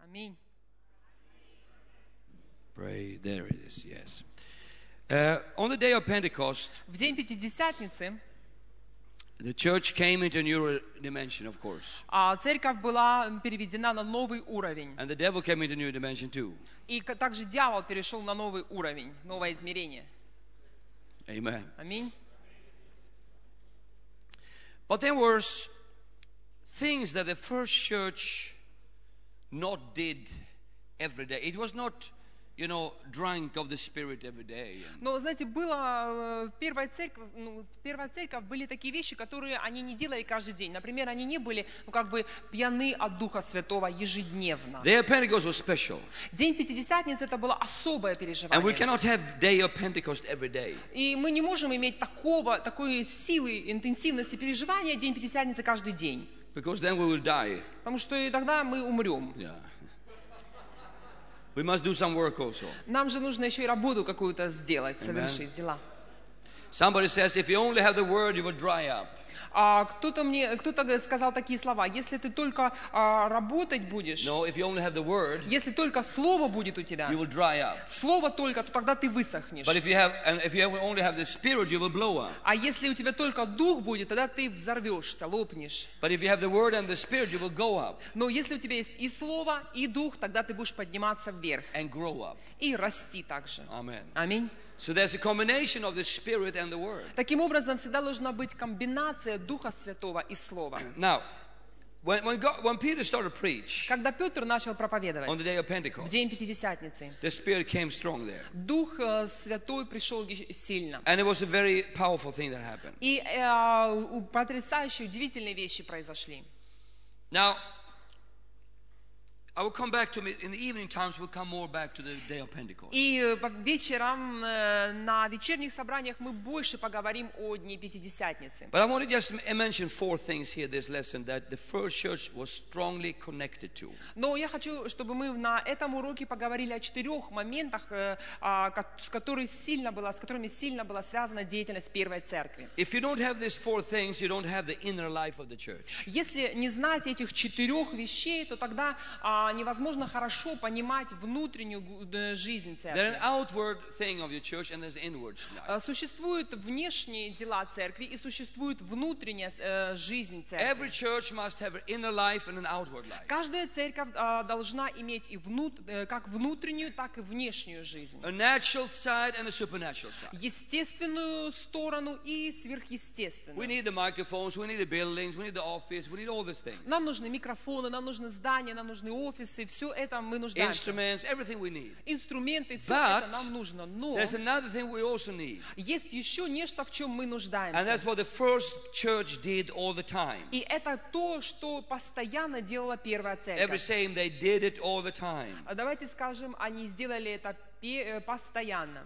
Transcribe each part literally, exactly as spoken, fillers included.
Аминь. Pray. There it is. Yes. Uh, on the day of Pentecost, В день Пятидесятницы the church came into a new dimension, of course, а, церковь была переведена на новый уровень. and the devil came into a new dimension too. И к- также дьявол перешел на новый уровень, новое измерение. Amen. Аминь. But there were things that the first church not did every day. It was not, you know, drunk of the Spirit every day. Но, знаете, было э, в первой церкви, ну, первая церковь были такие вещи, которые они не делали каждый день. Например, они не были, ну, как бы пьяны от Духа Святого ежедневно. Their Pentecost was special. День Пятидесятницы это было особое And we переживание. cannot have day of Pentecost every day. И мы не можем иметь такого, такой силы, интенсивности переживания День Пятидесятницы каждый день. Because then we will die. Потому что и тогда мы умрем. Yeah. We must do some work also. Нам же нужно еще и работу какую-то сделать, совершить дела. Somebody says, if you only have the word, you will dry up. А кто-то мне, кто-то сказал такие слова: если ты только а, работать будешь, No, if you only have the word, если только слово будет у тебя, you will dry up. слово только, то тогда ты высохнешь. But if you have, and if you have only have the Spirit, you will blow up. А если у тебя только дух будет, тогда ты взорвешься, лопнешь. But if you have the word and the Spirit, you will go up Но если у тебя есть и слово, и дух, тогда ты будешь подниматься вверх and grow up. и расти также. Amen. Аминь. So there's a combination of the Spirit and the word. Таким образом, всегда должна быть комбинация Духа Святого и Слова. Now, when when, God, when Peter started to preach Когда Петр начал on проповедовать the day of в Pentecost, день Пятидесятницы, the Spirit came strong there, Дух э, Святой пришел е- сильно. and it was a very powerful thing that happened. И э, у- потрясающие, удивительные вещи произошли. Now, I will come back to it in the evening times. We'll come more back to the day of Pentecost. И э, по вечерам, э, на вечерних собраниях мы больше поговорим о Дне Пятидесятницы. But I want to just m- mention four things here, this lesson, that the first church was strongly connected to. Но я хочу, чтобы мы на этом уроке поговорили о четырех моментах, э, а, ко- с, которыми сильно была, с которыми сильно была связана деятельность Первой Церкви. If you don't have these four things, you don't have the inner life of the church. Если не знать этих четырех вещей, то тогда а, невозможно хорошо понимать внутреннюю э, жизнь There's an церкви. outward thing of your church and there's inward life. А, Существуют внешние дела церкви и существует внутренняя э, жизнь Every церкви. church must have an inner life and an outward life. Каждая церковь а, должна иметь и внут, э, как внутреннюю, так и внешнюю жизнь. A natural side and a supernatural side. Естественную сторону и We сверхъестественную. need the microphones, we need the buildings, we need the office, we need all these things. Нам нужны микрофоны, нам нужны здания, нам нужны офисы, все это мы нуждаемся. Instruments, everything we need. Инструменты, все But это нам нужно. Но There's another thing we also need. есть еще нечто, в чем мы And that's нуждаемся. what the first church did all the time. И это то, что постоянно делала Первая Every Церковь. same, they did it all the time. А давайте скажем, они сделали это пе- э, постоянно.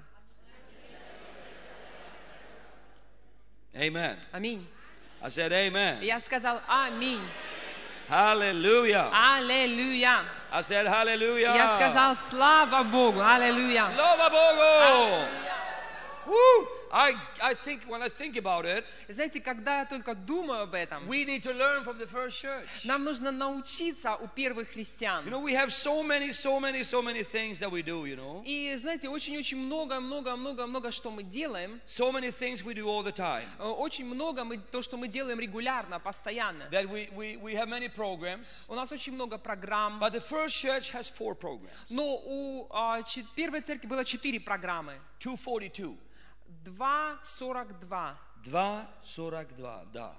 Amen. Аминь. I said amen. Я сказал аминь. Hallelujah. Аллилуйя. I said hallelujah. Я сказал слава Богу. Аллилуйя. Slava Bogu. Woo! I, I think, when I think about it, Знаете, когда я только думаю об этом, we need to learn from the first church. нам нужно научиться у первых христиан. You know, we have so many, so many, so many things that we do, you know. И знаете, очень-очень много, много, много, много, что мы делаем. So many things we do all the time. Э, Очень много мы, то, что мы делаем регулярно, постоянно. That we, we, we have many programs. У нас очень много программ. But the first church has four programs. Но у а, че- первой церкви было четыре программы. two forty-two. два сорок два. два сорок два, да.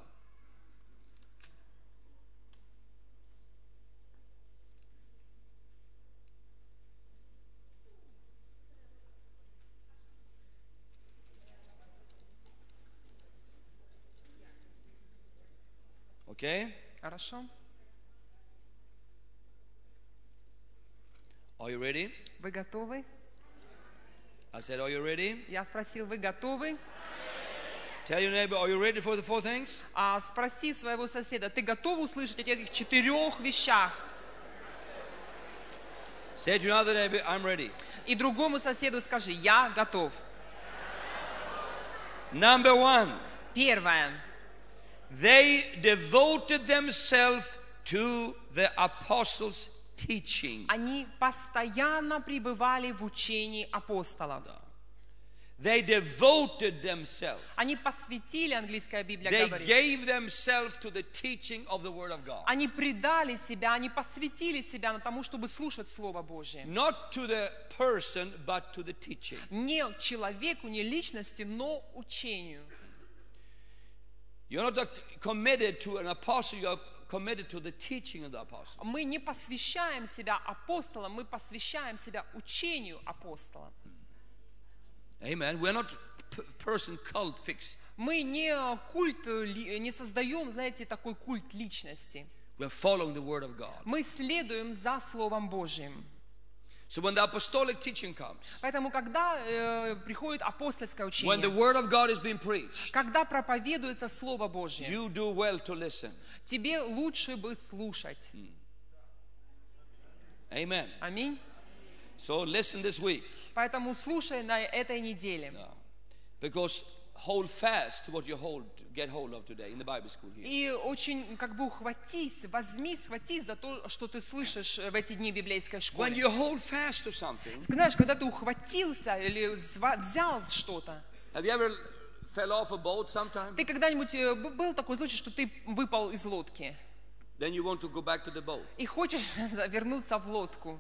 Okay? Хорошо? Are you ready? Вы готовы? I said, are you ready? Я спросил, вы готовы? Tell your neighbor, are you ready for the four things? А спроси своего соседа, ты готов услышать о этих четырех вещах? Say to another neighbor, I'm ready. И другому соседу скажи, я готов. Number one, Первое. they devoted themselves to the apostles' teaching. Они постоянно пребывали в учении апостолов. They devoted themselves. Они посвятили, английская Библия They говорит, gave themselves to the teaching of the Word of God. они предали себя, они посвятили себя на тому, чтобы слушать Слово Божье. Not to the person, but to the teaching. Не человеку, не личности, но учению. You're not committed to an apostle, you're committed to the teaching of the apostle. Мы не посвящаем себя апостолам, мы посвящаем себя учению апостола. Amen. We're not person cult fixed. Мы не культ, не создаем, знаете, такой культ личности. We're following the Word of God. Мы следуем за Словом Божьим. So when the apostolic teaching comes, Поэтому, когда э, приходит апостольское when the учение, Word of God is being preached, когда проповедуется Слово Божье, you do well to listen. тебе лучше бы слушать. Amen. Аминь. So listen this week. Поэтому слушай на этой неделе. Yeah. Because hold fast to what you hold, get hold of today in the Bible school here. И очень как бы ухватись, возьми, схватись за то, что ты слышишь в эти дни библейской When школы. you hold fast to something, Знаешь, когда ты ухватился или взва- взял что-то, have you ever fell off a boat sometime? ты когда-нибудь э, б- был такой случай, что ты выпал из лодки Then you want to go back to the boat. и хочешь вернуться в лодку?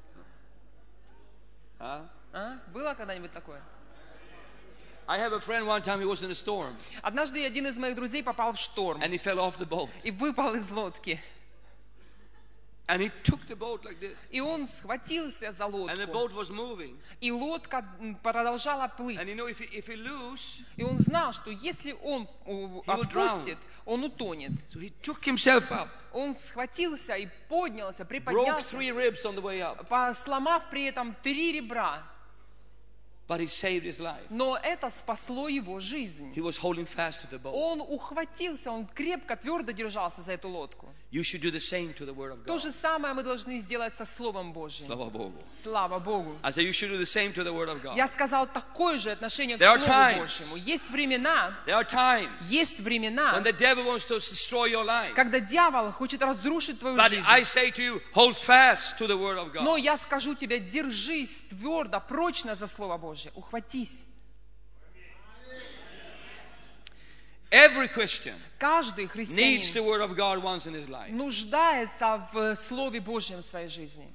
Huh? А? Было когда-нибудь такое? I have a friend one time, he was in a storm Однажды один из моих друзей попал в шторм and he fell off the boat. и выпал из лодки. And he took the boat like this. И он схватился за And the лодку. boat was moving. И лодка м, продолжала плыть. And he knew if he, if he lose, И он знал, что если он у, will отпустит, он утонет. so he took himself up, Он схватился и поднялся, broke приподнялся, three ribs on the way up, по- сломав при этом три ребра. but he saved his life. Но это спасло его жизнь. He was holding fast to the boat. Он ухватился, он крепко, твердо держался за эту лодку. You should do the same to the Word of То God. же самое мы должны сделать со Словом Божьим. Слава Богу. Слава Богу. I say you should do the same to the Word of God. Я сказал такое же отношение к There are Слову times. Божьему. Есть времена, There are times есть времена, when the devil wants to destroy your life. когда дьявол хочет разрушить твою But жизнь. I say to you, hold fast to the Word of Но God. я скажу тебе, держись твердо, прочно за Слово Божье. Ухватись. Every Christian Каждый needs the христианин Word of God once in his life. нуждается в Слове Божьем в своей жизни.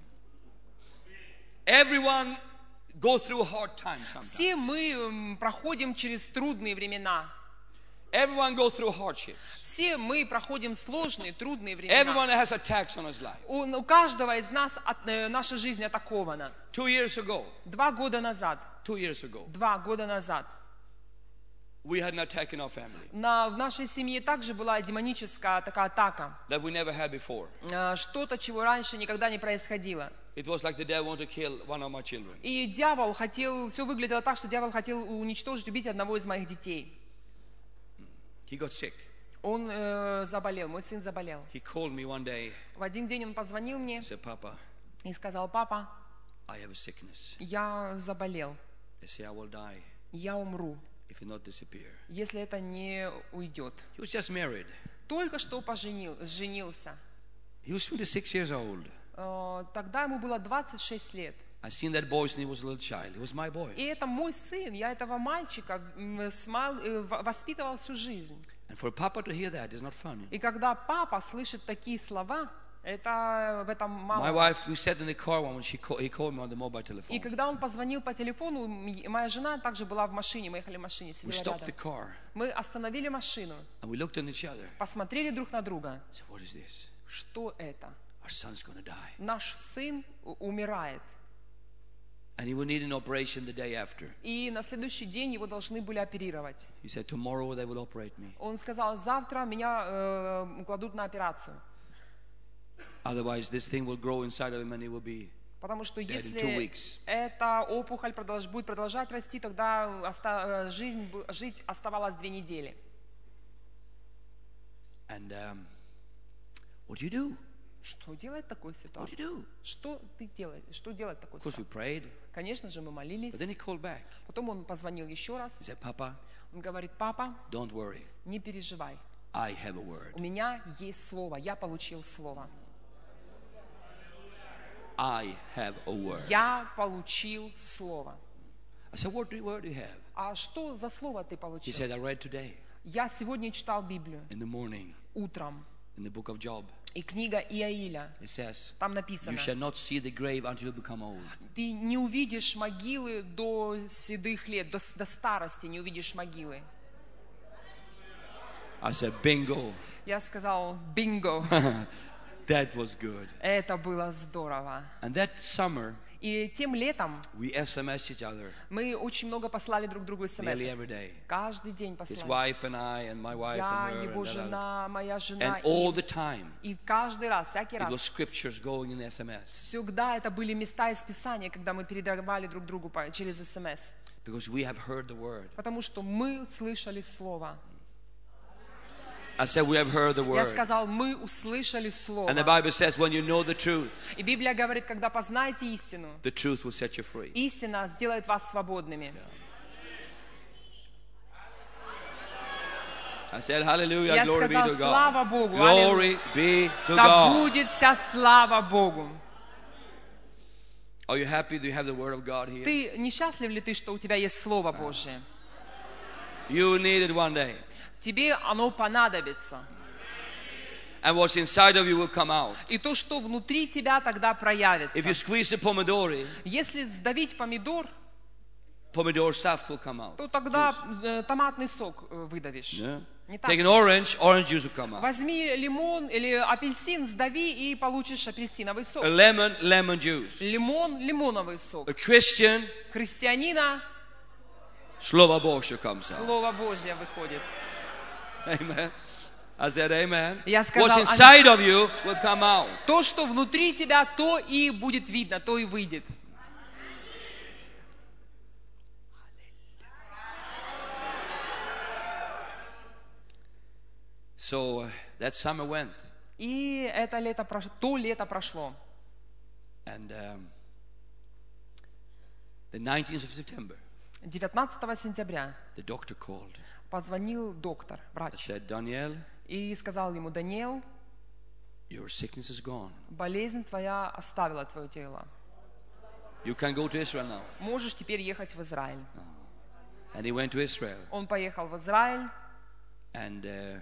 Everyone go through hard times sometimes. Все мы м, проходим через трудные времена. Everyone go through hardships. Все мы проходим сложные, трудные Everyone времена. has attacks on his life. У, у каждого из нас от- э, наша жизнь атакована. Two years ago, Два года назад, two years ago, два года назад we had an attack in our family на, в нашей семье также была демоническая такая атака. that we never had before. Э, Что-то, чего раньше никогда не происходило. It was like the devil wanted to kill one of my children. И дьявол хотел, все выглядело так, что дьявол хотел уничтожить, убить одного из моих детей. He got sick. Он э, заболел, мой сын заболел. He called me one day В один день он позвонил мне and said, Papa, и сказал: папа, I have a sickness. я заболел, They say I will die я умру, if it not disappear. если это не уйдет. He was just married. Только что поженил, женился. He was twenty-six years old. Э, Тогда ему было двадцать шесть лет. I seen that boy since he was a little child. He was my boy. И это мой сын, я этого мальчика м, с мал- э, в- воспитывал всю жизнь. And for Papa to hear that is not funny. И когда папа слышит такие слова, это в этом мало. My wife, we sat in the car one when she call, he called me on the mobile telephone. И когда он позвонил по телефону, м- моя жена также была в машине, мы ехали в машине, We сидела stopped the рядом. car Мы остановили машину, and we looked at each other. посмотрели друг на друга. I said, what is this? Что это? Our son's going to die. Наш сын у- умирает. And he will need an operation the day after. И на следующий день его должны были оперировать. He said, tomorrow they will operate me. Он сказал: завтра меня э, кладут на операцию. Otherwise, this thing will grow inside of him and he will be... Потому что in two если weeks. эта опухоль продолж- будет продолжать расти, тогда оста- э, жизнь, бу- жить оставалось две недели. And um, what do you do? Что делать в такой What do ситуации? you do? Что ты делаешь? Что делать в такой Of course, we ситуации? prayed. Конечно же, мы молились. But then he called back. Потом он позвонил еще раз. He said, Papa, Он говорит: папа, don't worry. не переживай. I have a word. У меня есть слово. Я получил слово. I have a word. Я получил слово. I said, what word do you have? А что за слово ты He получил? said, I read today Я сегодня читал Библию in the morning утром. in the book of Job. И книга Иаиля. It says, Там you написано: shall not see the grave until you become old. ты не увидишь могилы до седых лет, до, до старости не увидишь могилы. I said, bingo. Я сказал: бинго. That was good. Это было здорово. And that summer, И тем летом we S M S each other мы очень много послали друг другу смс. nearly every day. Каждый день His послали. wife and I and my wife Я, and her. его And, that other. жена, моя жена. And all И, the time, и каждый раз, всякий it was раз, scriptures going in the S M S. всегда это были места из Писания, когда мы передавали друг другу по- через смс. Because we have heard the word. Потому что мы слышали Слово. I said, we have heard the Я word. сказал: мы услышали Слово. And the Bible says, when you know the truth, И Библия говорит: когда познаете истину, the truth will set you free. истина сделает вас свободными. I said, hallelujah, Я glory be сказал: to слава God. Богу, Glory be to да God. будет вся слава Богу. Are you happy that you have the word of God here? Ты несчастлив ли ты, что у тебя есть Слово Божие? You need it one day. Тебе оно понадобится. And what's inside of you will come out. И то, что внутри тебя, тогда проявится. If you squeeze the pomodori, Если сдавить помидор, pomodoro saft will come out. то тогда э, томатный сок э, выдавишь. Yeah. Не так? Take an orange, orange juice will come out. Возьми лимон или апельсин, сдави и получишь апельсиновый сок. A lemon, lemon juice. Лимон, лимоновый сок. A Christian, Христианина Slovo Božje comes out. Слово Божье выходит. Amen. I said amen. Я сказал, What's inside of you will come out. То, что внутри тебя, то и будет видно, то и выйдет. So uh, that summer went. И это лето прошло, то лето прошло. And um, the nineteenth of September, девятнадцатого сентября the doctor called. позвонил доктор, I врач, said, Daniel, и сказал ему: Даниэл, your sickness is gone. болезнь твоя оставила твое тело. You can go to Israel now. Можешь теперь ехать в Израиль. And he went to Israel. Он поехал в Израиль, And uh,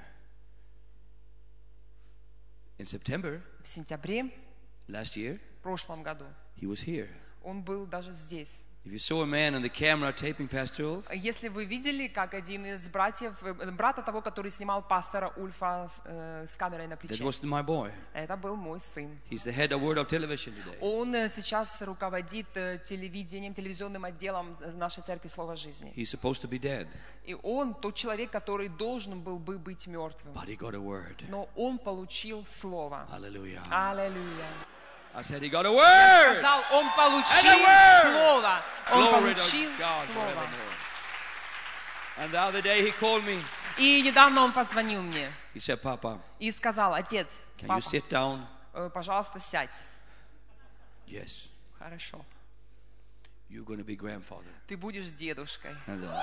in September в сентябре last year, в прошлом году. he was here. Он был даже здесь. If you saw a man on the camera taping Pastor Ulf, Если вы видели, как один из братьев, э, брата того, который снимал пастора Ульфа с, э, с камерой на that плече, was my boy. это был мой сын. He's the head of Word of Television today. Он э, сейчас руководит э, телевидением, телевизионным отделом нашей церкви Слова Жизни. He's supposed to be dead, И он тот человек, который должен был бы быть мертвым. but he got a word. Но он получил слово. Hallelujah. Аллилуйя. I said he got a word. Сказал, он получил And a word. слово. Он Glory получил to God слово. forevermore. And the other day he called me. И недавно он позвонил мне He said, Papa, и сказал: отец, can папа, you sit down? э, пожалуйста, сядь. Yes. Хорошо. You're going to be grandfather. Ты будешь дедушкой. And, uh,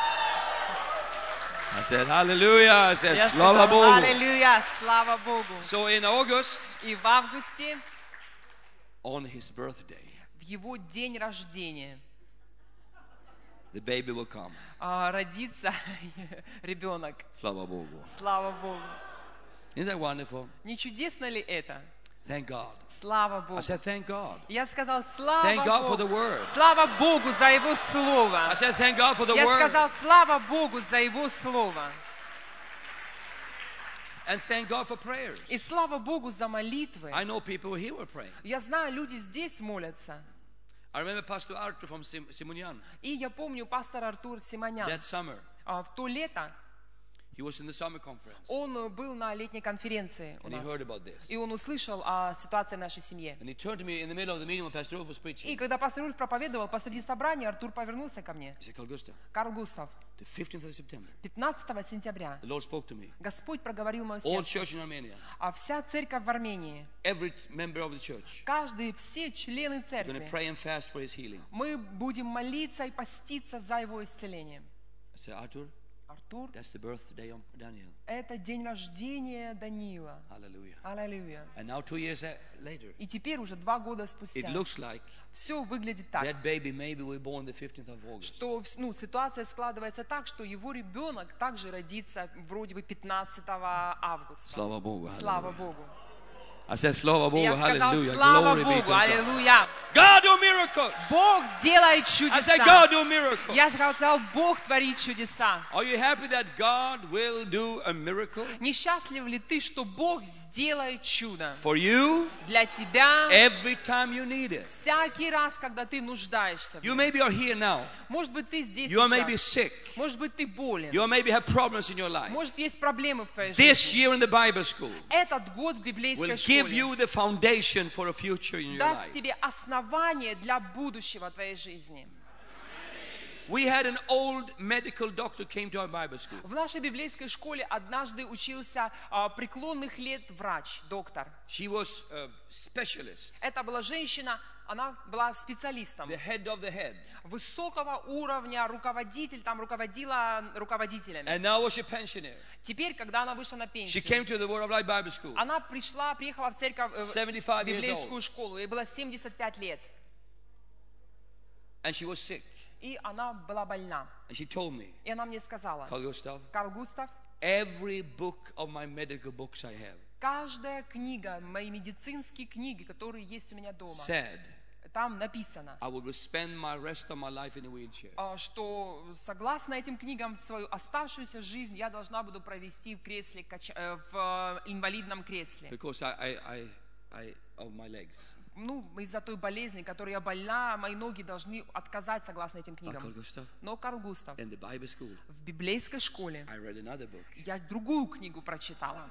I said, Hallelujah. I said, Я Slava сказал: Bogu. аллилуйя, слава Богу. So in August, И в августе, on his birthday, в его день рождения, the baby will come. а, родится ребенок. Slava Bogu. Слава Богу. Isn't that wonderful? Не чудесно ли это? Thank God. Слава Богу. I said, thank God. Я сказал: слава Thank God for the Богу. word. Слава Богу за Его Слово. I said, thank God for the Я word. сказал: слава Богу за Его Слово. And thank God for prayers. И слава Богу за молитвы. I know people here were praying. Я знаю, люди здесь молятся. I remember Pastor Arthur from Sim- Simonyan И я помню пастор Артур Симонян. that summer. а, В то лето He was in the summer conference. он был на летней конференции у And he нас. heard about this. И он услышал о ситуации в нашей семье. And he turned to me in the middle of the meeting when Pastor Ulf was И preaching. когда пастор Ульф проповедовал посреди собрания, Артур повернулся ко мне. He said, Carl Gustav, Карл Густав, the fifteenth of September, пятнадцатого сентября the Lord spoke to me. Господь проговорил мое All сердце. church in Armenia, А вся церковь в Армении, every member of the church, каждый, все члены are going to церкви, pray and fast for his healing. мы будем молиться и поститься за его исцеление. I said, Arthur, Артур. That's the birthday of Daniel. Это день рождения Даниила. Hallelujah. Аллилуйя. And now two years a- later, И теперь уже два года it спустя looks like все выглядит так, that baby maybe will be born the fifteenth of August. что ну, ситуация складывается так, что его ребенок также родится вроде бы пятнадцатого августа. Слава Богу. Слава Hallelujah. Богу. I said, Slava И Bogu, я сказал, hallelujah. слава Glory be to Богу, God. аллилуйя. God do miracles. Бог делает I said, чудеса. God do miracles. Я сказал, Бог творит чудеса. Are you happy that God will do a miracle Несчастлив ли ты, что Бог сделает чудо for you для тебя every time you need it? всякий раз, когда ты нуждаешься в You нем? maybe are here now. Может быть, ты здесь You are maybe сейчас. sick. Может быть, ты болен. You maybe have problems in your life. Может, есть проблемы в твоей This жизни. year in the Bible school Этот год в библейской will give школе you the foundation for a future in your даст life. тебе основание для будущего твоей жизни. We had an old medical doctor came to our Bible school. В нашей библейской школе однажды учился а, преклонных лет врач, доктор. She was a specialist, Это была женщина, она была специалистом. the head of the head. Высокого уровня, руководитель, там руководила руководителями. And now was she pensioner. Теперь, когда она вышла на She пенсию, came to the Word of Life Bible school. она пришла, приехала в церковь, э, в seventy-five years библейскую old. школу. Ей было семьдесят пять лет. And she was sick. И она была больна. And she told me, И она мне сказала, Carl Gustav, Карл Густав, every book of my medical books I have каждая книга, мои медицинские книги, которые есть у меня дома, said там написано, I would spend my rest of my life in a wheelchair. а, что согласно этим книгам свою оставшуюся жизнь я должна буду провести в кресле, кача- э, в э, инвалидном кресле. Because I, I, I, I of my legs. Ну, из-за той болезни, которой я больна, мои ноги должны отказать согласно этим But Carl книгам. Gustav, Но Карл Густав, in the Bible school, в библейской школе I read another book. я другую книгу прочитала.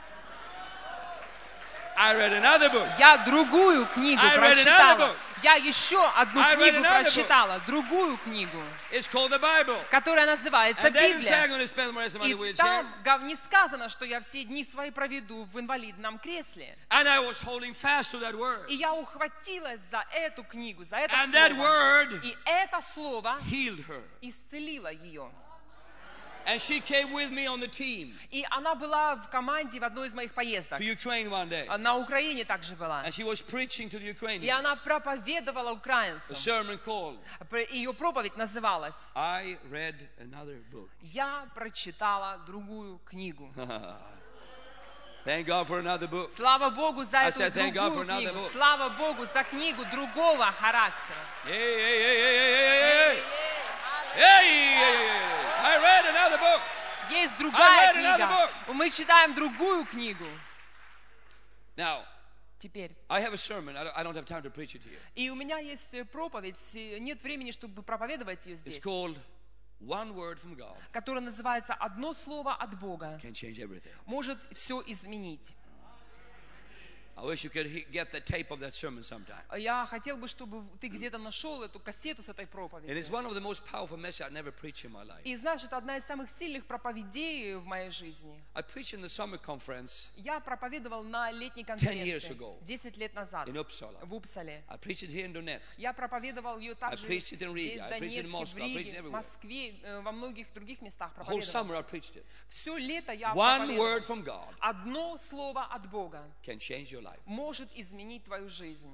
I read another book. Я другую книгу I read another прочитала. book. Я еще одну I read книгу another book. прочитала, другую книгу, It's called the Bible. которая называется And they didn't say I'm Библия. going to spend the rest of my И wheelchair. там гов- не сказано, что я все дни свои проведу в инвалидном кресле. And I was holding fast to that word. И я ухватилась за эту книгу, за это And that слово. word И это слово healed her. исцелило ее. And she came with me on the team И она была в команде в одной из моих поездок. to Ukraine one day. На Украине также была. And she was preaching to the И Ukrainians. она проповедовала A украинцам. sermon called, Ее проповедь называлась I read another book. «Я прочитала другую книгу». Thank God for another book. Слава Богу за I эту said, thank God for другую another книгу. book. Слава Богу за книгу другого характера. Hey, hey, hey, hey, hey, hey, hey. Hey, hey, hey, hey. I read another book. Есть I другая read another книга. Мы читаем другую книгу. Now, Теперь. I have a sermon. I don't, I don't have time to preach it here. И у меня есть э, проповедь. э, Нет времени, чтобы проповедовать ее It's здесь. called One Word from God Которая называется «Одно слово от Бога Can Change Everything. может все изменить». I wish you could he- get the tape of that sermon sometime. Я хотел бы, чтобы ты где-то нашел эту кассету с этой And it's проповедью. one of the most powerful messages I never preached in my life. И знаешь, это одна из самых сильных проповедей в моей жизни. I preached in the summer conference Я проповедовал на летней years конференции ago. десять лет назад in Uppsala. в Упсале. I preached it here in Donetsk. Я проповедовал ее также preached it in Riga. здесь, в I preached it in Донецке, в Moscow. I preached it Риге, everywhere. в Москве, э, во многих других местах The whole проповедовал. summer I preached it. Все лето я One проповедовал. word from God Одно слово от Бога can change your life. может изменить твою жизнь.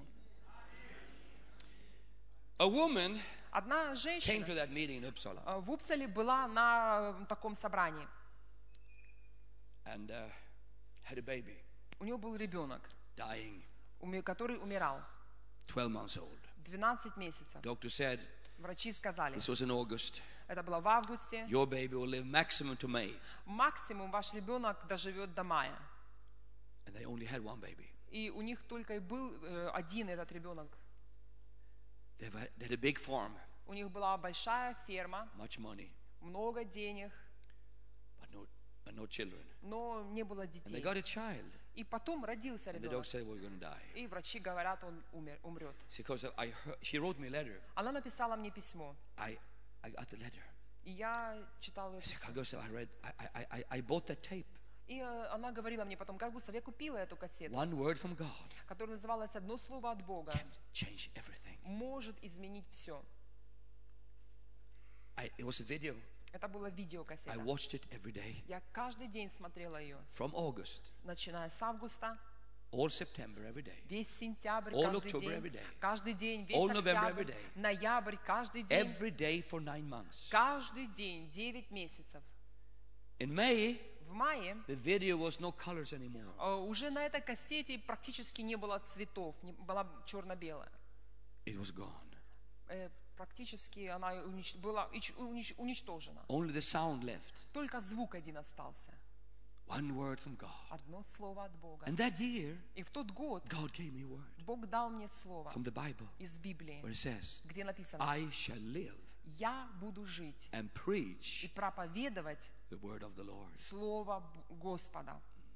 A woman Одна came to женщина that meeting in Uppsala э, в Упсале была на э, таком собрании. and uh, had a baby У нее был ребенок, dying, уме- который умирал. twelve months old. двенадцать месяцев. Doctor said, Врачи сказали, this was in August, это было в августе, your baby will live maximum to May. максимум ваш ребенок доживет до мая. And they only had one baby. И у них только и был э, один этот ребенок. They had, they had a big farm, У них была большая ферма, much money, много денег, but no, but no children. но не было And they детей. got a child. И потом родился And the ребенок. doctor said, we're going to die. И врачи говорят, он умер, умрет. Because I heard, she wrote me a letter. Она написала мне письмо. I, I got the letter. И я читала ее I said, письмо. Carl Gustav, I read, I, I, I, I bought that tape. И э, она говорила мне потом, как Густав, я купила эту кассету, One word from God которая называлась «Одно слово от Бога can change everything. может изменить все». I, it was a video. Это была I видеокассета. watched it every day. Я каждый день смотрела ее, From August, начиная с августа, all September, every day. весь сентябрь, All каждый October, every день, day. каждый день, весь All November, октябрь, every day. ноябрь, каждый день, Every day for nine months. каждый день, девять месяцев. In May, В мае the video was no colors anymore. э, уже на этой кассете практически не было цветов, не, была черно-белая. It was gone. Э, практически она унич- была ич- унич- уничтожена. Only the sound left. Только звук один остался. One word from God. Одно слово от Бога. And that year, И в тот год God gave me a word Бог дал мне слово from the Bible из Библии, where it says, где написано: I shall live «Я буду жить and и preach проповедовать the word of the Lord. Слово Б- Господа».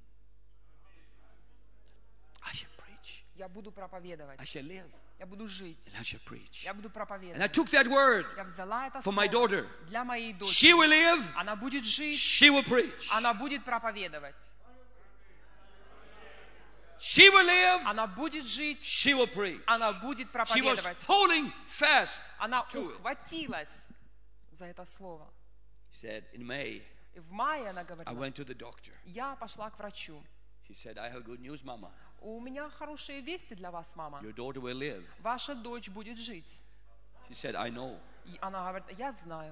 I shall preach. Я буду проповедовать. I shall live Я буду жить. and I shall preach. Я буду And I проповедовать. took that word Я взяла это for my слово daughter. для моей She дочери. will live, Она будет жить, she will preach. она будет проповедовать. She will live, Она будет жить, she will preach. она будет She was проповедовать. holding fast Она to it. ухватилась за это слово. She said, in May, И в мае она I говорила: went to the doctor. я пошла к врачу. She said, I have good news, Mama. У меня хорошие вести для вас, мама. Your daughter will live. Ваша дочь будет жить. She said, I know. И она говорит: я знаю,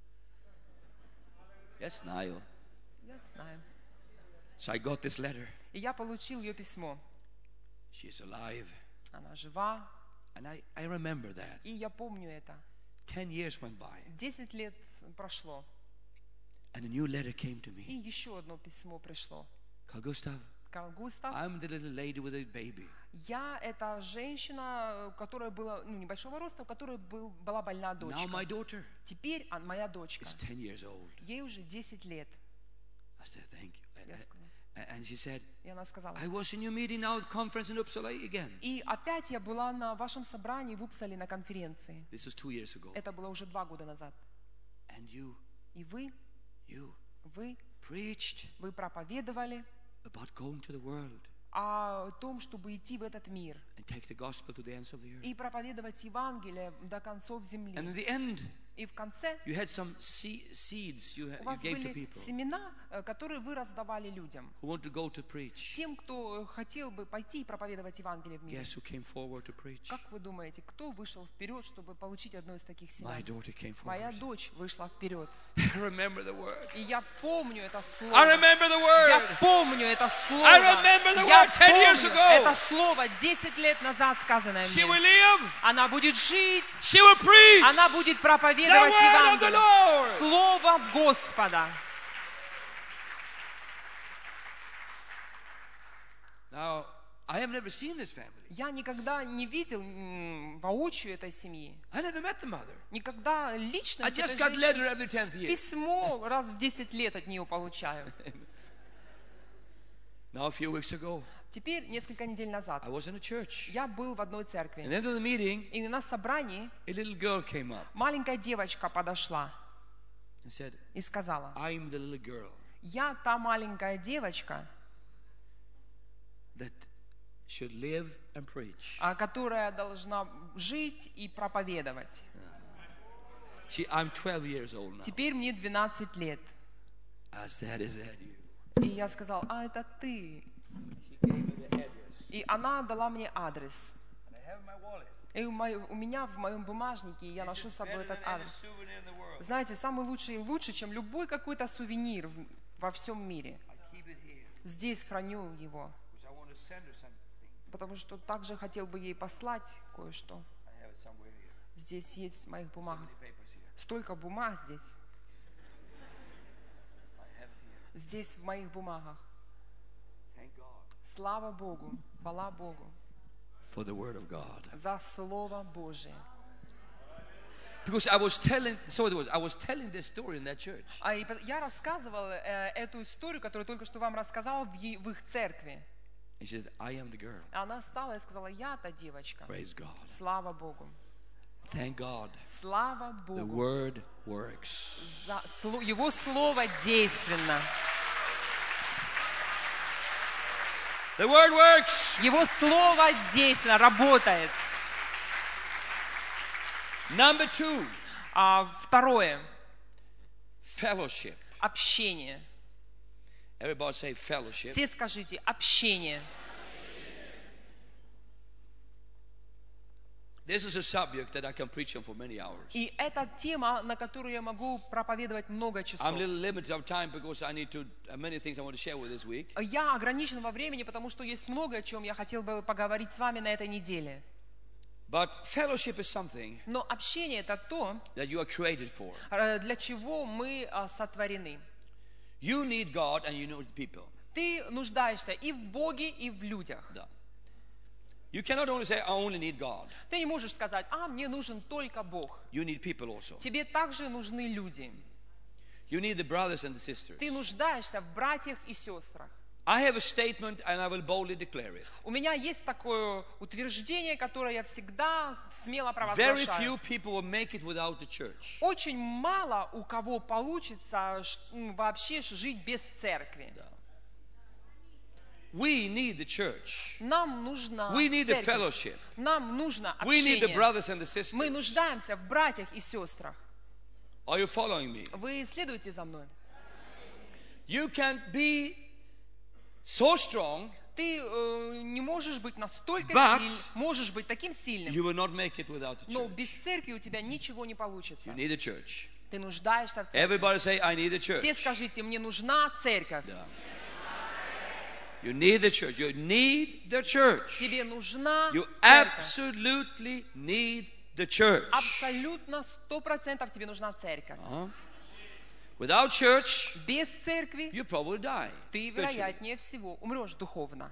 Yes, Niall. я знаю. So I got this letter. И я получил ее письмо. She is alive. Она жива, And I, I remember that. и я помню это. Ten years went by. Десять лет прошло, And a new letter came to и me. еще одно письмо пришло. Carl Gustav, Карл Густав, I'm the little lady with a baby. я эта женщина, которая была, ну, небольшого роста, у которой был, была больная Now my дочка. daughter Теперь а, моя дочка, is ten years old. ей уже десять лет. I said, thank you. And- Я сказала. And she said, И она сказала: I was in your meeting now at conference in Uppsala again. и опять я была на вашем собрании в Упсале на конференции. This was two years ago. Это было уже два года назад. And you, И вы, you вы, preached вы проповедовали about going to the world о том, чтобы идти в этот мир and take the gospel to the ends of the earth. и проповедовать Евангелие до концов земли. And in the end, И в конце you had some se- seeds you, ha- у you вас gave to были people семена, э, которые вы раздавали людям. who want to go to preach. Тем, кто хотел бы пойти и проповедовать Евангелие в мире. Guess who came forward to preach? Как вы думаете, кто вышел вперед, чтобы получить одно из таких My семян? daughter came Моя forward. дочь вышла вперед. I remember the word. И я помню это слово. I remember the Я word. помню это слово. I remember the Я word ten years помню ago. это слово десять лет назад сказанное She will мне. live. Она будет жить, She will preach. она будет The проповедовать word of the Евангелие. Lord. Слово Господа. Now, I have never seen this family. Я никогда не видел м, воочию этой семьи. I never met the mother. Никогда лично I just got letter every tenth year. письмо раз в десять лет от нее получаю. Now, a few weeks ago, Теперь, несколько недель назад, I was in a church. я был в одной At церкви. the end of the meeting, И на собрании a little girl came up маленькая девочка подошла and said, и сказала: I'm the little girl я та маленькая девочка, that should live and preach. а, которая должна жить и проповедовать. She, I'm twelve years old now. Теперь мне двенадцать лет. I said, is that you? И я сказал: а это ты. She gave me the address. И она дала мне адрес. And I have my wallet. И у, моей- у меня в моем бумажнике, я ношу с собой этот адрес. souvenir in the world. Знаете, самый лучший и лучше, чем любой какой-то сувенир в- во всем мире. I keep it here Здесь храню его, because I want to send her something. потому что также хотел бы ей послать кое-что. I have it somewhere here. Здесь есть в моих So бумагах. many papers here. Столько бумаг здесь. I have it here. Здесь в моих бумагах. Thank God Слава Богу, хвала Богу for the word of God. за Слово Божие. Because I was telling, so it was, I was telling this story in that church. А и по- я рассказывал э, эту историю, которую только что вам рассказал в, е- в их церкви. And she said, I am the girl. Она встала и сказала: я та девочка. Praise God. Слава Богу. Thank God. Слава The Богу. word works. За сло- Его Слово действенно. The word works. Его Слово действенно работает. Number two, А, второе. Fellowship. Общение. Everybody say fellowship. Все скажите общение. This is a subject that I can preach on for many hours. И это тема, на которую я могу проповедовать много часов. I'm a little limited of time because I need to uh, many things I want to share with this week. Я ограничен во времени, потому что есть много о чем я хотел бы поговорить с вами на этой неделе. But fellowship is something Но общение это то, that you are created for. для чего мы сотворены. You need God and you need people. Ты нуждаешься и в Боге, и в людях. Да. You cannot only say I only need God. Ты не можешь сказать: а, мне нужен только Бог. You need people also. Тебе также нужны люди. You need the brothers and the sisters. Ты нуждаешься в братьях и сестрах. I have a statement and I will boldly declare it. У меня есть такое утверждение, которое я всегда смело Very провозглашаю. few people will make it without the church. Очень мало у кого получится вообще жить без церкви. Да. We need the church. Нам нужна We need the церковь. fellowship. Нам нужно We need the общение. brothers and the sisters. Мы нуждаемся в братьях и сестрах. Are you following me? Вы следуете за мной? You can be so strong, Ты э, не можешь быть настолько But сильным, можешь быть таким сильным, you will not make it without the но church. без церкви у тебя ничего не получится. You need a church. Ты нуждаешься в церкви. Everybody say, I need a Все church. скажите: мне нужна церковь. Yeah. You need the church. You need the church. Тебе нужна You церковь. absolutely need the church. Абсолютно сто процентов тебе нужна церковь. Uh-huh. Without church, Без церкви you probably die. ты, spiritually. вероятнее всего, умрешь духовно.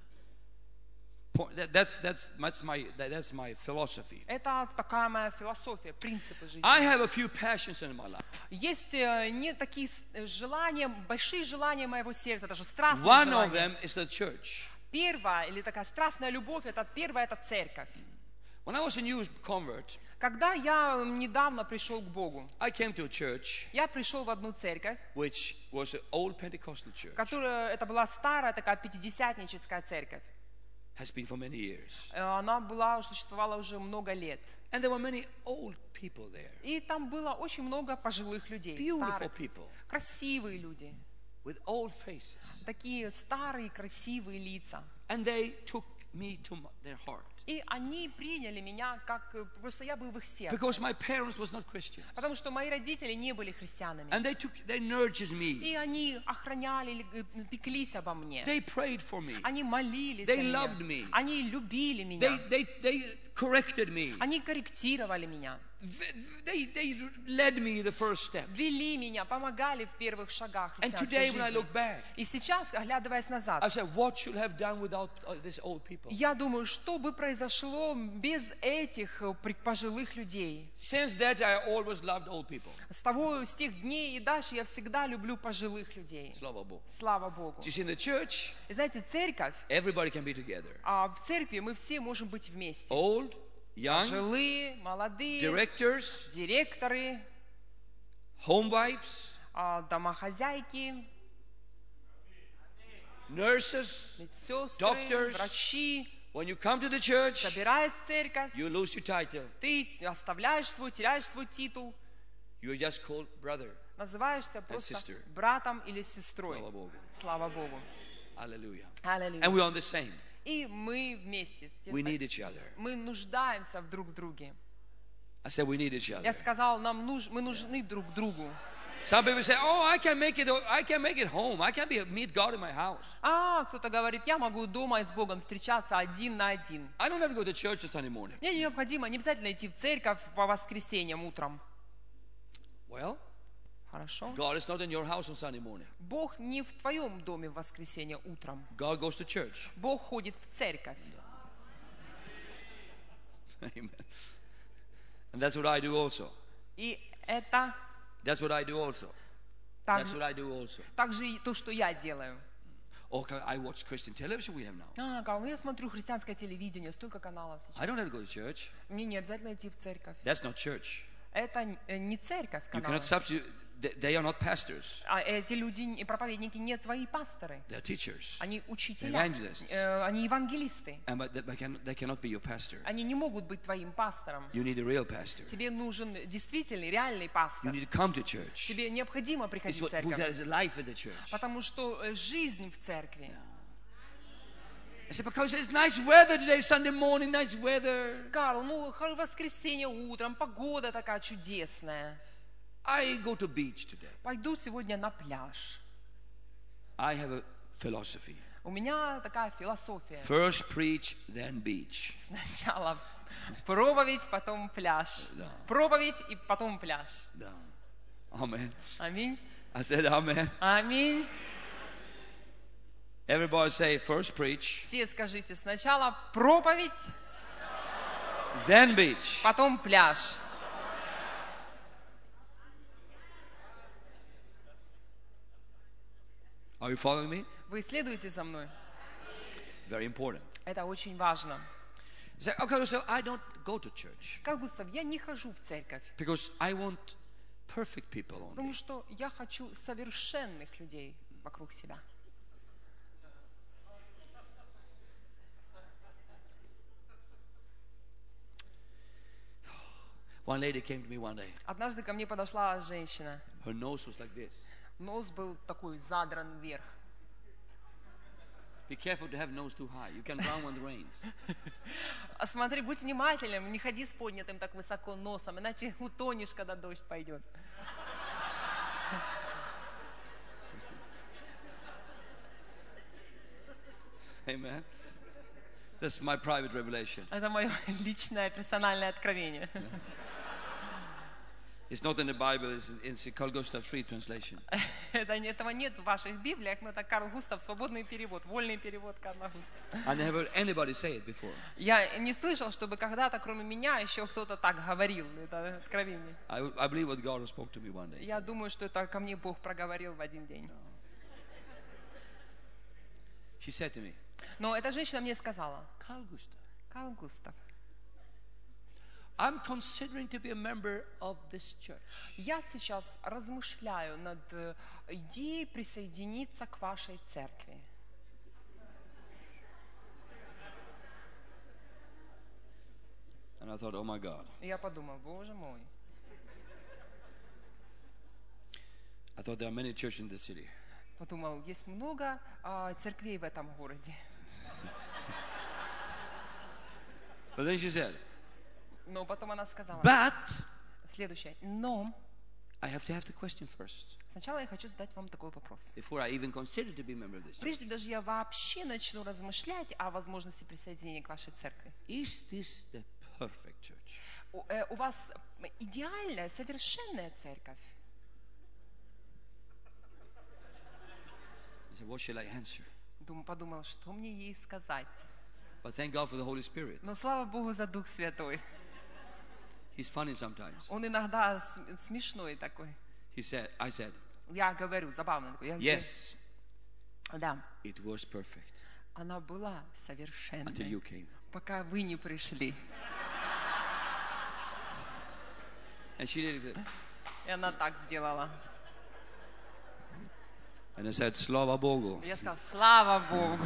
Point- that- That's, that's, that's, my, that- that's my philosophy. Это такая моя философия, принципы жизни. I have a few passions in my life. Есть э, не такие с- э, желания, большие желания моего сердца, даже страстные One of желания. them is the church. Первая или такая страстная любовь, это первая, это церковь. When I was a new convert, Когда я недавно пришел к Богу, I came to a church я пришел в одну церковь, which was an old Pentecostal church. которая, это была старая такая пятидесятническая церковь. Has been for many years. Э, Она была, существовала уже много лет. And there were many old people there. И там было очень много пожилых людей, Beautiful старых, people красивые люди, with old faces. такие старые красивые лица. And they took me to my, their heart. И они приняли меня, как э, просто я был в их сердце. Because my parents was not Christians. Потому что мои родители не были христианами. And they took, they nurtured me. И они охраняли, или, э, пеклись обо мне. They prayed for me. Они молились They за меня. loved me. Они любили меня. They, they, they corrected me. Они корректировали меня. They, they led me the first step. Вели меня, помогали в первых шагах And христианской today when I жизни. look back, И сейчас, оглядываясь назад, I said, what should I have done without uh, these old people? я думаю, что бы произошло без этих э, при- пожилых людей. Since that, I always loved old people. С того, с тех дней и дальше я всегда люблю пожилых людей. Слава Богу. Слава Богу. You see, in the church, И знаете, церковь, everybody can be together. а в церкви мы все можем быть вместе. Old, young, Пожилые, молодые, directors, директоры, homewives, а, домохозяйки, nurses. медсестры, Doctors. врачи. When you come to the church, Собираясь в церковь, you lose your title. ты оставляешь свой, теряешь свой титул, You are just called brother. называешься просто sister. братом или сестрой. Слава Богу. Слава Богу. Hallelujah. Аллилуйя. And we are the same. И мы вместе. We need each other. Мы нуждаемся в друг в друге. I said we need each other. Я сказал, нам нуж, мы нужны друг другу. Some people say, "Oh, I can make it. I can make it home. I can be meet God in my house. А кто-то говорит, я могу дома с Богом встречаться один на один. I don't have to go to church on Sunday morning." Мне необходимо, не обязательно идти в церковь по воскресеньям утром. Well, Хорошо? God is not in your house on Sunday morning. Бог не в твоем доме в воскресенье утром. God goes to church. Бог ходит в церковь. Amen. And that's what I do also. И это That's what I do also. так, That's what I do also. также и то, что я делаю. Oh, I watch Christian television we have now. А, Карл, ну я смотрю христианское телевидение, столько каналов сейчас. I don't have to go to church. Мне не обязательно идти в церковь. That's not church. Это э, не церковь, You каналы. cannot substitute they, they are not pastors. А эти люди, и проповедники, не твои пасторы. They are teachers. Они учителя, Evangelists. э, они евангелисты. And but they, they can, they cannot be your pastor. Они не могут быть твоим пастором. You need a real pastor. Тебе нужен действительный, реальный You пастор. need to come to church. Тебе необходимо It's приходить в what, there церковь, is a life in the church. потому что э, жизнь в церкви. I said, because it's nice weather today, Sunday morning, nice weather. Карл, ну, х- воскресенье утром, погода такая чудесная. I go to beach today. Пойду сегодня на пляж. I have a philosophy. У меня такая философия. First preach, then beach. Сначала проповедь, потом пляж. Да. Проповедь и потом пляж. Да. Amen. Аминь. I said, amen. Аминь. Everybody say, first preach, Все скажите, сначала проповедь, then beach. потом пляж. Are you following me? Вы следуете за мной? Very important. Это очень важно. Say, okay, so I don't go to church Как Густав, я не хожу в церковь, because I want perfect people only. потому что я хочу совершенных людей вокруг себя. One lady came to me one day. Однажды ко мне подошла женщина. Her nose was like this. Нос был такой задран вверх. Be careful to have nose too high. You can drown when it rains. А смотри, будь внимательным, не ходи с поднятым так высоко носом, иначе утонешь, когда дождь пойдет. Amen. That's my private revelation. Это мое личное персональное откровение. It's not in the Bible, it's in, it's in Carl Gustav free translation. Это, этого нет в ваших Библиях, но это Карл Густав, свободный перевод, вольный перевод Карла Густава. I never heard anybody say it before. Я не слышал, чтобы когда-то, кроме меня, еще кто-то так говорил. Это откровение. I, I believe what God spoke to me one day. Я думаю, что это ко мне Бог проговорил в один день. She said to me, Но эта женщина мне сказала: Carl Gustav, Карл Густав, I'm considering to be a member of this church. я сейчас размышляю над э, идеей присоединиться к вашей церкви. And I thought, oh my God. И я подумал, боже мой. I thought there are many churches in the city. Подумал, есть много а, церквей в этом городе. But then she said, Но потом она сказала but следующее. Но I have to have the question first сначала я хочу задать вам такой вопрос. before I even consider to be a member of this church. Прежде даже я вообще начну размышлять о возможности присоединения к вашей церкви. Is this the perfect church? У, э, у вас идеальная, совершенная церковь. I said, what shall I answer? Дум, подумал, что мне ей сказать. But thank God for the Holy Spirit. Но слава Богу за Дух Святой. He's funny sometimes. Он иногда с- смешной такой. He said, I said, Я говорю, забавно такой. Я yes, говорю, да, it was perfect она была until совершенной, you came. пока вы не пришли. And she did it. И она так сделала. And I said, Slava Bogu. Я сказала, слава Богу.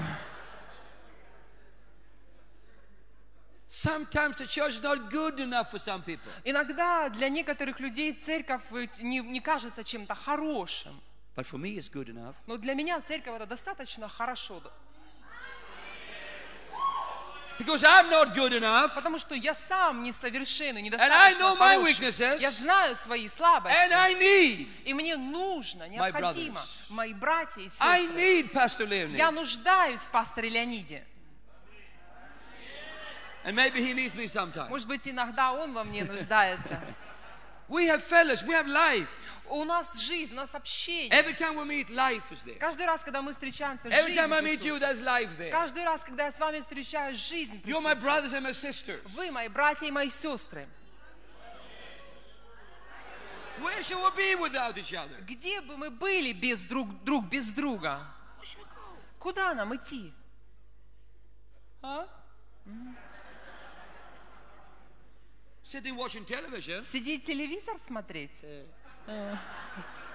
Sometimes the church is not good enough for some people. Иногда для некоторых людей церковь э, не, не кажется чем-то хорошим. But for me, it's good enough. Но для меня церковь это достаточно хорошо. Because I'm not good enough. Потому что я сам несовершенный, And I недостаточно know my хороший. weaknesses. Я знаю свои And слабости. I need, И мне нужно, необходимо, brothers. мои братья и I сестры. need Pastor Leonie. Я нуждаюсь в пасторе Леониде. And maybe he needs me sometimes. Может быть, иногда он во мне нуждается. We have fellas, we have life. У нас жизнь, у нас общение. Every time we meet, life is there. Каждый раз, когда мы встречаемся, Every жизнь time I meet you, присутствует. there's life there. Каждый раз, когда я с вами встречаюсь, жизнь You're my присутствует. brothers and my sisters. Вы мои братья и мои сестры. Where shall we be without each other? Где бы мы были без друг, друг без друга? Куда нам идти? Huh? Sitting watching television. Сидеть телевизор смотреть?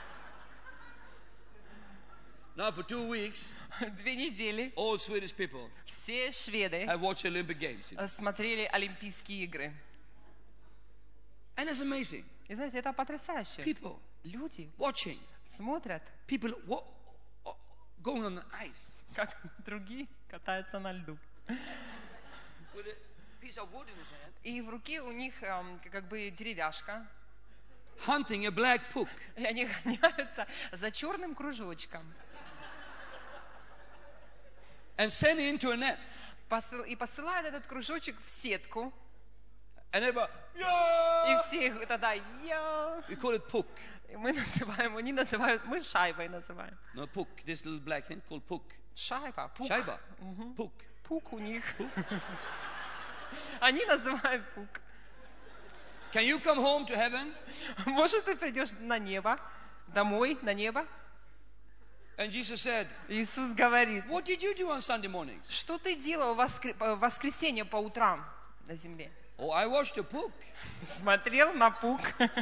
Now for two weeks, Две недели all Swedish people все шведы have watched Olympic Games. You know. э, смотрели Олимпийские игры. And it's amazing. И знаете, это потрясающе. People Люди watching. смотрят, People wa- going on the ice как другие катаются на льду. with a piece of wood in his hand, И в руке у них эм, как бы деревяшка. hunting a black puck. И они гоняются за черным кружочком. And sending into a net. Посыл- И посылают этот кружочек в сетку. And everybody, И yeah! все их тогда я. We call it puck. И мы называем, они называют, мы шайбой называем. No, puck. This little black thing called puck. Шайба, пук. Shaiba. Puck. Пук у них. Они называют пук. Can you come home to heaven Может, ты придешь на небо, домой, на небо? and Jesus said, Иисус говорит, what did you do on Sunday mornings? что ты делал в воскр- в воскресенье по утрам на земле? Oh, I watched a puck. Смотрел на пук.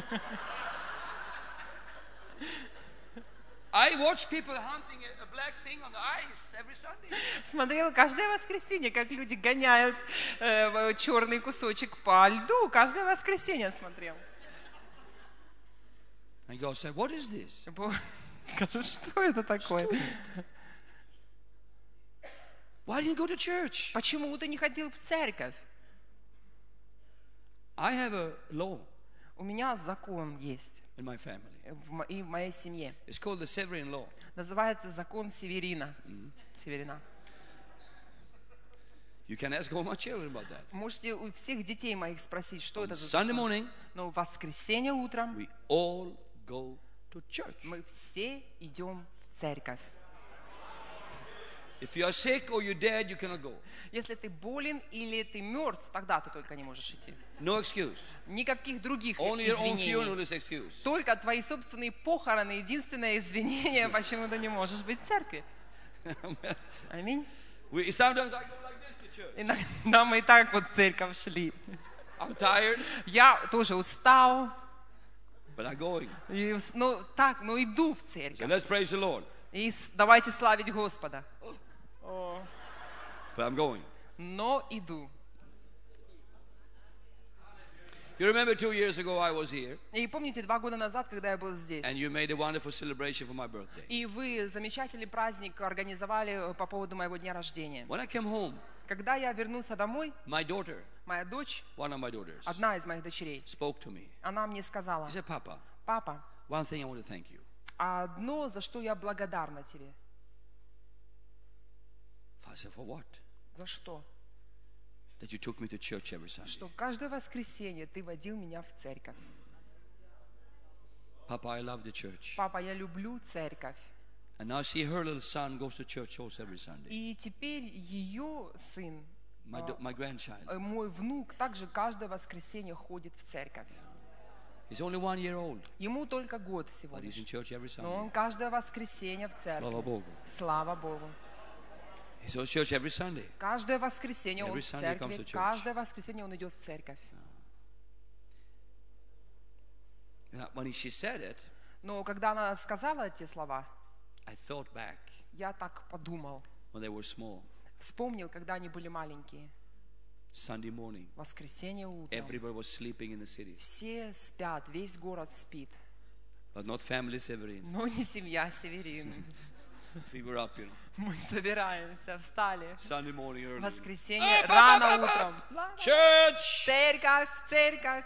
I watch people hunting a, a black thing on the ice every Sunday. Смотрел каждое воскресенье, как люди гоняют э, черный кусочек по льду. Каждое воскресенье смотрел. And God said, what is this? Бог скажет, что это такое? Why didn't you go to church? Почему ты не ходил в церковь? I have a law У меня закон есть in my family. в мо- и в моей семье. It's called the Severin law. Называется закон Северина. Северина. You can ask all my children about that. Можете у всех детей моих спросить, что On это за Sunday закон. morning, Но в воскресенье утром we all go to church. мы все идем в церковь. If you are sick or you're dead, you cannot go. Если ты болен или ты мертв, тогда ты только не можешь идти. No excuse. Никаких других Only your own извинений. funeral is excuse. Только твои собственные похороны — единственное извинение, почему ты не можешь быть в церкви. Аминь. We, sometimes I go like this to church. Иногда мы и так вот в церковь шли. I'm tired, Я тоже устал. but I'm going. И, ну, так, ну иду в So церковь. let's praise the Lord. И с- давайте славить Господа. But I'm going. Но иду. You remember two years ago I was here, И помните, два года назад, когда я был здесь, and you made a wonderful celebration for my birthday. и вы замечательный праздник организовали по поводу моего дня рождения. When I came home, Когда я вернулся домой, my daughter, моя дочь, one of my daughters, одна из моих дочерей, spoke to me. она мне сказала: She said, Papa, папа, one thing I want to thank you. одно, за что я благодарна тебе. I said, for what? За что? That you took me to church every Sunday. Что каждое воскресенье ты водил меня в церковь. Papa, I love the church. Папа, я люблю церковь. And now see her little son goes to church also every Sunday. И теперь ее сын, My, do- my grandchild. э, мой внук, также каждое воскресенье ходит в церковь. He's only one year old, Ему только год всего but he's in лишь. church every Но он Sunday. каждое воскресенье в Слава церкви. Богу. Слава Богу. He's in church every Sunday. Каждое воскресенье он Every в Sunday he comes церкви. to church. Каждое воскресенье он идет в церковь. Now, when she said it, Но когда она сказала эти слова, I thought back я так подумал. when they were small. Вспомнил, когда они были маленькие. Sunday morning, Воскресенье утром. everybody was sleeping in the city, Все спят, весь город спит. but not family Severin. Но не семья Северин. We were up, you know, Мы собираемся, встали. Sunday morning early. Воскресенье рано утром. Church! Церковь, церковь.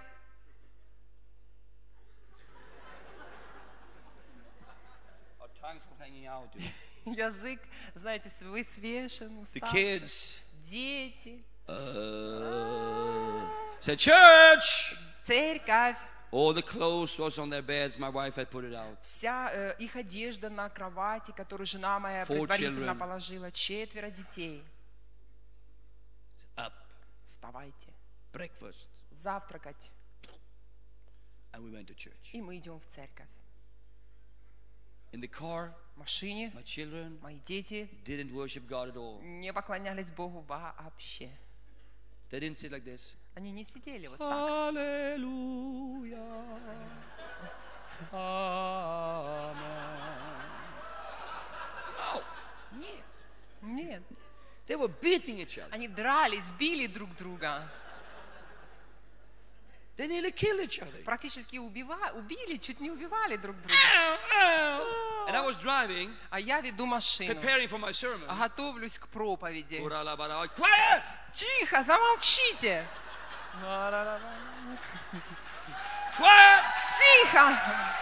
Our tongues were hanging out, you know. Язык, знаете, высвешен, The уставший. kids Дети. uh, said, Church! Церковь. All the clothes was on their beds. My wife had put it out. Вся э, их одежда на кровати, которую жена моя Four предварительно children. положила. Четверо детей. Up, Вставайте. breakfast, Завтракать. and we went to church. И мы идем в церковь. In the car, В машине my children мои дети didn't worship God at all. не поклонялись Богу вообще. They didn't sit like this. Они не сидели вот так. Hallelujah. Amen. Нет. They were beating each other. Они дрались, били друг друга. They nearly killed each other. Практически убива... убили, чуть не убивали друг друга. And I was driving, А я веду машину, preparing for my sermon. готовлюсь к проповеди. Quiet! Тихо, замолчите! Quiet! Тихо!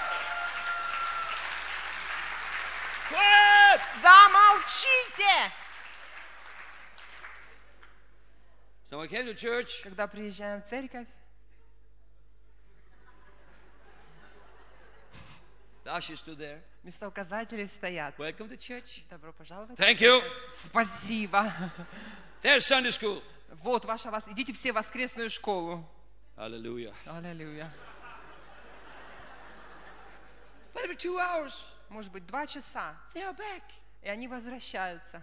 Quiet! Замолчите! So I came to church. Когда приезжаем в церковь, The ushers stood there. местоуказатели стоят. Welcome to church. Добро пожаловать. Thank you. Спасибо. There's Sunday school. Вот ваша вас. Идите все в воскресную школу. Hallelujah. Аллилуйя. But every two hours, Может быть, два часа, they are back. и они возвращаются.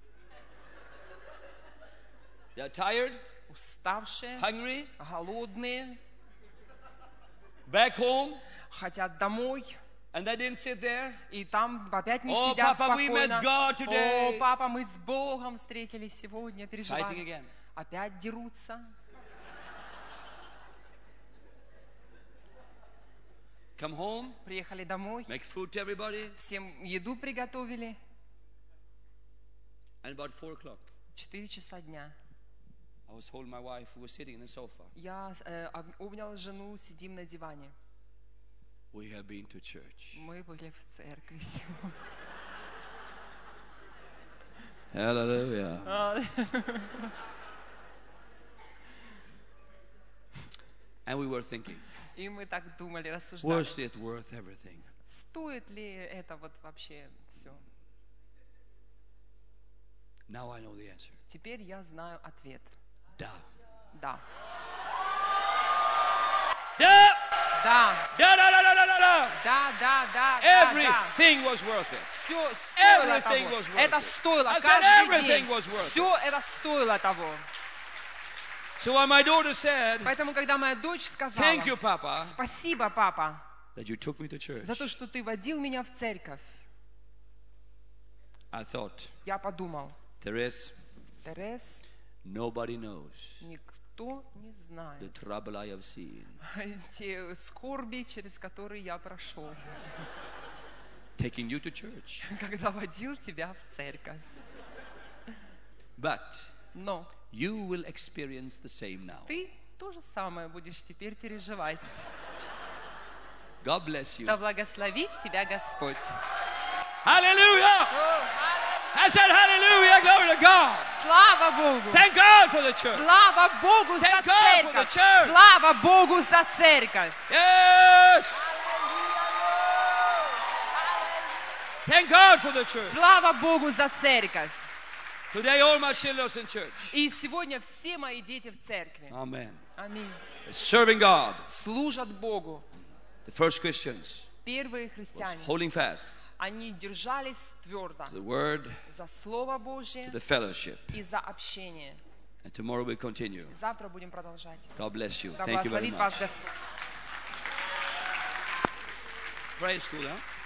They are tired, Уставшие, hungry, голодные, back home, хотят домой. and they didn't sit there. И там опять не Oh, сидят Papa, we спокойно. met God today. О, папа, мы с Богом встретились сегодня, Fighting переживали. again. Опять дерутся. Come home, Приехали домой, make food to everybody, всем еду приготовили. and about four o'clock, Четыре часа дня. I was holding my wife who was sitting in the sofa. Я э, об- обнял жену, сидим на диване. We have been to church. Мы были в церкви сегодня. Hallelujah. And we were thinking, И мы так думали, рассуждали. was it worth everything? Стоит ли это вот вообще все? Now I know the answer. Теперь я знаю ответ. Da. Да. Da! Да. Da, da, da, da, da, da, da. Да, да, да, да, да. Everything was worth it. Все стоило Everything того. was worth Это it. стоило I said каждый everything день. was worth Все это стоило того. So when my daughter said, Поэтому, когда моя дочь сказала, thank you, Papa, спасибо, папа, that you took me to church, за то, что ты водил меня в церковь, I thought, я подумал, Therese, Терес, nobody knows никто не the знает trouble I have seen те скорби, через которые я прошел, taking you to church. когда водил тебя в церковь. But Но you will experience the same now. ты то же самое будешь теперь переживать. God bless you. Да благословит тебя Господь. Hallelujah! I said hallelujah, glory to God. Слава Богу! Thank God for the church. Слава Богу за Thank God for the церковь! church. Слава Богу за церковь! Yes! Thank God for the church. Слава Богу за церковь! Today all my children are in church. И сегодня все мои дети в церкви. Amen. Аминь. Serving God. Служат Богу. The first Christians Первые was христиане, holding fast они держались твердо to the word, за Слово Божье to the fellowship. и за общение. And tomorrow we'll continue. Завтра будем продолжать. God bless you. Да Thank you very благословит вас much. Господь. Praise school, huh?